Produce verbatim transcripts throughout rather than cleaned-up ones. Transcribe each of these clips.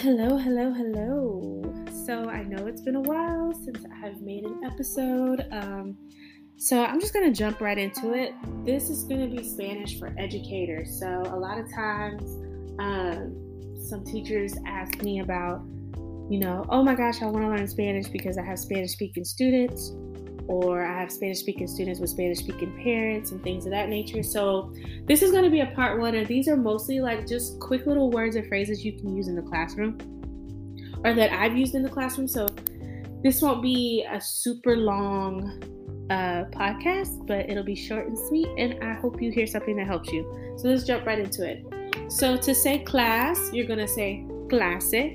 Hello, hello, hello. So I know it's been a while since I have made an episode. Um, so I'm just going to jump right into it. This is going to be Spanish for educators. So a lot of times um, some teachers ask me about, you know, oh my gosh, I want to learn Spanish because I have Spanish speaking students, or I have Spanish speaking students with Spanish speaking parents and things of that nature. So this is going to be a part one, and these are mostly like just quick little words or phrases you can use in the classroom or that I've used in the classroom. So this won't be a super long uh, podcast, but it'll be short and sweet, and I hope you hear something that helps you. So let's jump right into it. So to say class, you're going to say clase,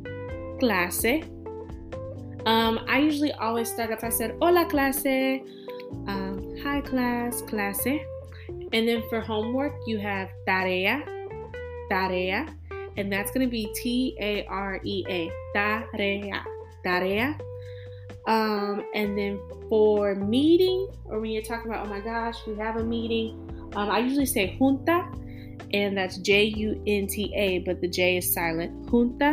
clase. Um, I usually always start off, I said, hola clase, um, hi class, clase. And then for homework, you have tarea, tarea. And that's going to be T A R E A, tarea, tarea. Um, and then for meeting, or when you're talking about, oh my gosh, we have a meeting, um, I usually say junta, and that's J U N T A, but the J is silent. Junta,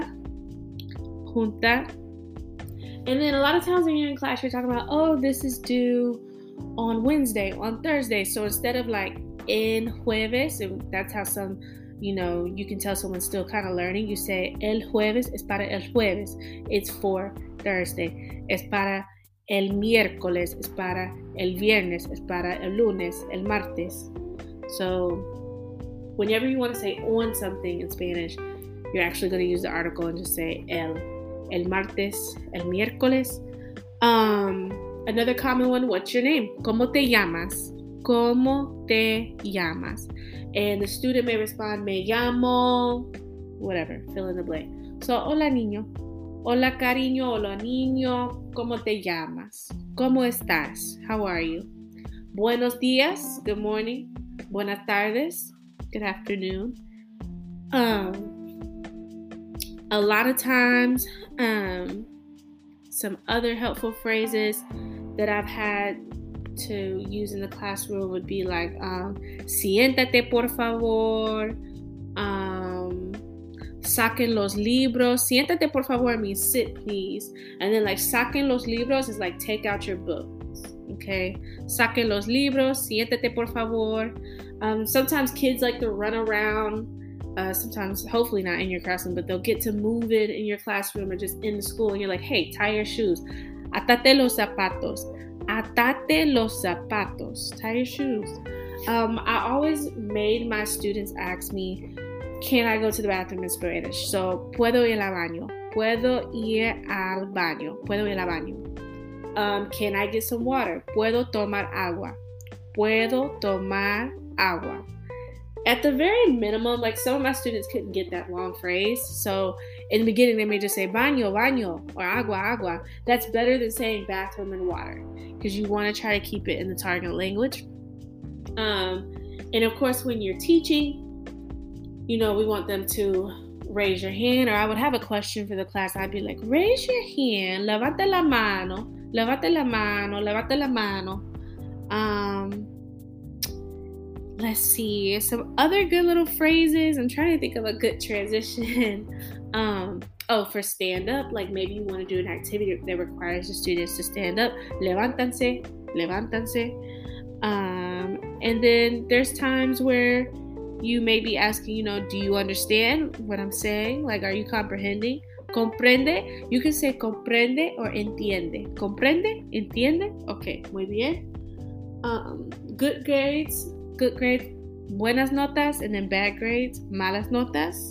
junta. And then a lot of times when you're in class, you're talking about, oh, this is due on Wednesday, on Thursday. So instead of like en jueves, and that's how some, you know, you can tell someone's still kind of learning. You say el jueves es para el jueves. It's for Thursday. Es para el miércoles. Es para el viernes. Es para el lunes, el martes. So whenever you want to say on something in Spanish, you're actually going to use the article and just say el. El martes, el miércoles. Um, another common one, what's your name? ¿Cómo te llamas? ¿Cómo te llamas? And the student may respond, me llamo, whatever, fill in the blank. So, hola niño. Hola cariño, hola niño. ¿Cómo te llamas? ¿Cómo estás? How are you? Buenos días, good morning. Buenas tardes, good afternoon. Um, A lot of times, um, some other helpful phrases that I've had to use in the classroom would be like, um, siéntate por favor, um, saquen los libros. Siéntate por favor means sit please. And then like saquen los libros is like take out your books, okay? Saquen los libros, siéntate por favor. Um, sometimes kids like to run around. Uh, sometimes, hopefully not in your classroom, but they'll get to move it in your classroom or just in the school. And you're like, hey, tie your shoes. Atate los zapatos. Atate los zapatos. Tie your shoes. Um, I always made my students ask me, can I go to the bathroom in Spanish? So, puedo ir al baño. Puedo ir al baño. Puedo ir al baño. Um, can I get some water? Puedo tomar agua. Puedo tomar agua. At the very minimum, like some of my students couldn't get that long phrase. So in the beginning, they may just say baño, baño, or agua, agua. That's better than saying bathroom and water, because you want to try to keep it in the target language. Um, and of course, when you're teaching, you know, we want them to raise your hand, or I would have a question for the class. I'd be like, raise your hand, levante la mano, levante la mano, levante la mano. Um, Let's see, some other good little phrases. I'm trying to think of a good transition. um, oh, for stand up, like maybe you want to do an activity that requires the students to stand up. Levántanse, levántanse. Um, and then there's times where you may be asking, you know, do you understand what I'm saying? Like, are you comprehending? Comprende. You can say comprende or entiende. Comprende, entiende. Okay, muy bien. Um, good grades. Good grades, buenas notas, and then bad grades, malas notas.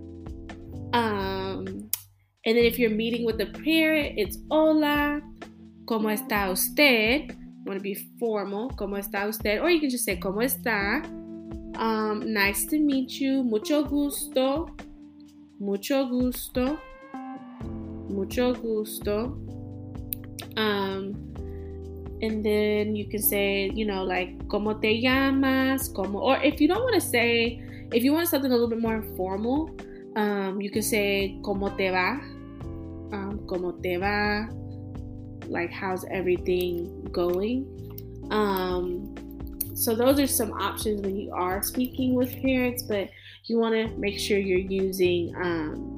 Um, and then if you're meeting with a parent, it's hola, ¿cómo está usted? Want to be formal, ¿cómo está usted? Or you can just say, ¿cómo está? Um, nice to meet you, mucho gusto, mucho gusto, mucho gusto. Um, And then you can say, you know, like, ¿cómo te llamas? ¿Cómo? Or if you don't want to say, if you want something a little bit more informal, um, you can say, ¿cómo te va? Um, ¿Cómo te va? Like, how's everything going? Um, so those are some options when you are speaking with parents, but you want to make sure you're using um,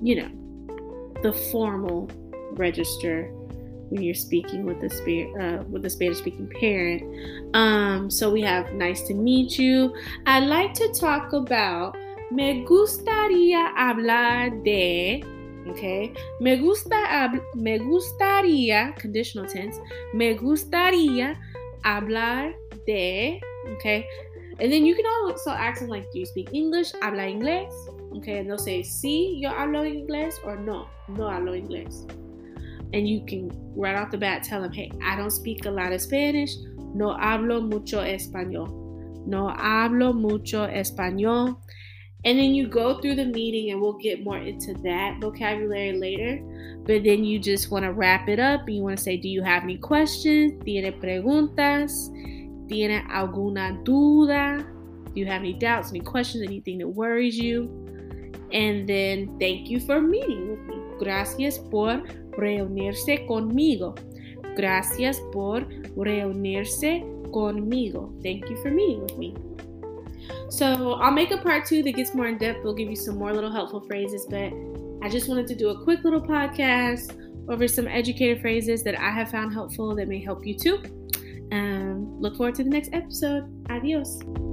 you know, the formal register when you're speaking with a sp- uh, with a Spanish-speaking parent. Um, so we have nice to meet you. I like to talk about me gustaría hablar de. Okay, me gusta hab- me gustaría, conditional tense. Me gustaría hablar de. Okay, and then you can also ask them like, do you speak English? Habla inglés. Okay, and they'll say, sí, yo hablo inglés, or no, no hablo inglés. And you can right off the bat tell them, hey, I don't speak a lot of Spanish. No hablo mucho español. No hablo mucho español. And then you go through the meeting, and we'll get more into that vocabulary later. But then you just want to wrap it up, and you want to say, do you have any questions? ¿Tiene preguntas? ¿Tiene alguna duda? Do you have any doubts, any questions, anything that worries you? And then thank you for meeting with me. Gracias por reunirse conmigo. Gracias por reunirse conmigo. Thank you for meeting with me. So I'll make a part two that gets more in depth. We'll give you some more little helpful phrases, but I just wanted to do a quick little podcast over some educated phrases that I have found helpful that may help you too. Um, look forward to the next episode. Adios.